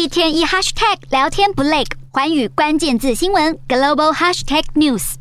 一天一 hashtag 聊天不累，寰宇關鍵字新聞 Global Hashtag News。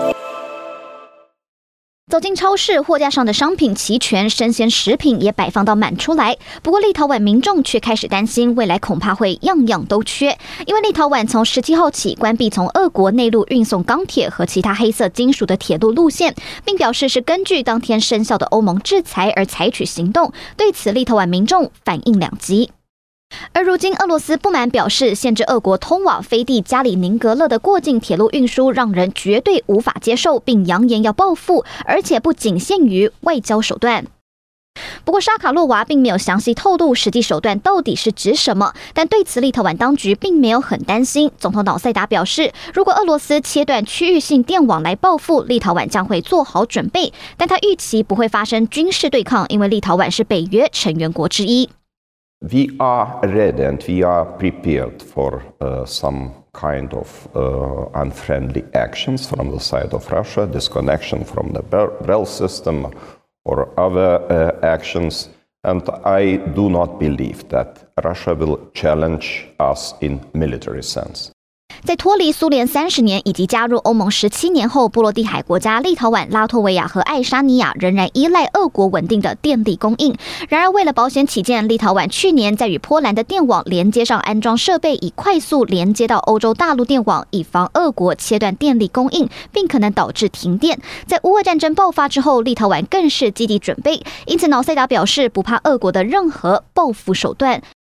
走進超市，貨架上的商品齊全，生鮮食品也擺放到滿出來。不過立陶宛民眾卻開始擔心，未來恐怕會樣樣都缺，因為立陶宛從17號起關閉從俄國內陸運送鋼鐵和其他黑色金屬的鐵路路線，並表示是根據當天生效的歐盟制裁而採取行動。對此，立陶宛民眾反應兩極。而如今，俄羅斯不滿表示，限制俄國通往飛地加里寧格勒的過境鐵路運輸，讓人絕對無法接受，並揚言要報復，而且不僅限於外交手段。不過，沙卡洛娃並沒有詳細透露實際手段到底是指什麼，但對此，立陶宛當局並沒有很擔心。總統瑙塞達表示，如果俄羅斯切斷區域性電網來報復，立陶宛將會做好準備，但他預期不會發生軍事對抗，因為立陶宛是北約成員國之一。 We are ready and we are prepared for some kind of unfriendly actions from the side of Russia, disconnection from the BREL system or other actions. And I do not believe that Russia will challenge us in military sense. 在脫離蘇聯30年以及加入歐盟17年後，波羅的海國家立陶宛、拉脫維亞和愛沙尼亞仍然依賴俄國穩定的電力供應。然而，為了保險起見，立陶宛去年在與波蘭的電網連接上安裝設備，以快速連接到歐洲大陸電網，以防俄國切斷電力供應，並可能導致停電。在烏俄戰爭爆發之後，立陶宛更是積極準備，因此瑙塞達表示不怕俄國的任何報復手段。